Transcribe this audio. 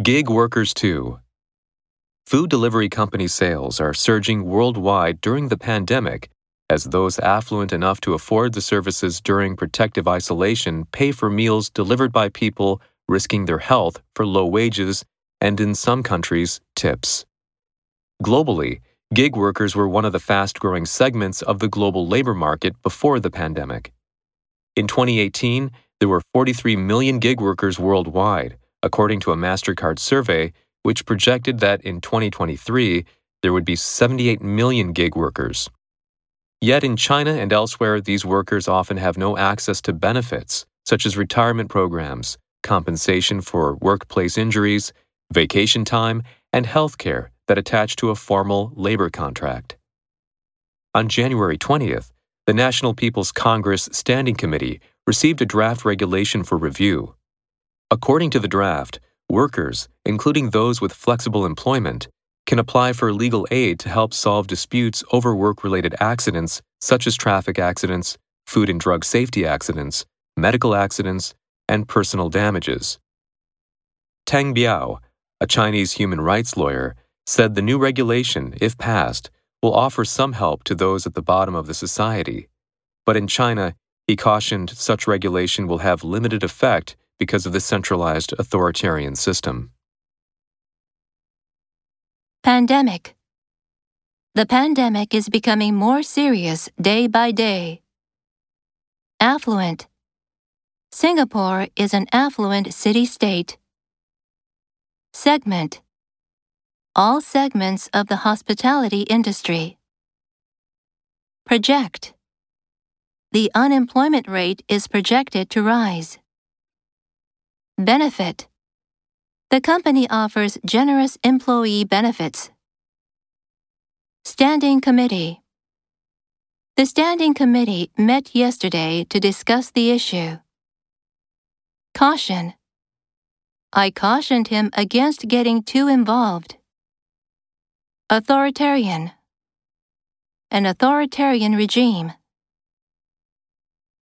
Gig workers too. Food delivery company sales are surging worldwide during the pandemic as those affluent enough to afford the services during protective isolation pay for meals delivered by people risking their health for low wages and, in some countries, tips. Globally, gig workers were one of the fast-growing segments of the global labor market before the pandemic. In 2018, there were 43 million gig workers worldwide, according to a MasterCard survey, which projected that in 2023, there would be 78 million gig workers. Yet in China and elsewhere, these workers often have no access to benefits, such as retirement programs, compensation for workplace injuries, vacation time, and health care that attach to a formal labor contract. On January 20th, the National People's Congress Standing Committee received a draft regulation for review. According to the draft, workers, including those with flexible employment, can apply for legal aid to help solve disputes over work-related accidents such as traffic accidents, food and drug safety accidents, medical accidents, and personal damages. Tang Biao, a Chinese human rights lawyer, said the new regulation, if passed, will offer some help to those at the bottom of the society. But in China, he cautioned such regulation will have limited effect because of the centralized authoritarian system. Pandemic. The pandemic is becoming more serious day by day. Affluent. Singapore is an affluent city-state. Segment. All segments of the hospitality industry. Project. The unemployment rate is projected to rise. Benefit. The company offers generous employee benefits. Standing Committee. The Standing Committee met yesterday to discuss the issue. Caution. I cautioned him against getting too involved. Authoritarian. An authoritarian regime.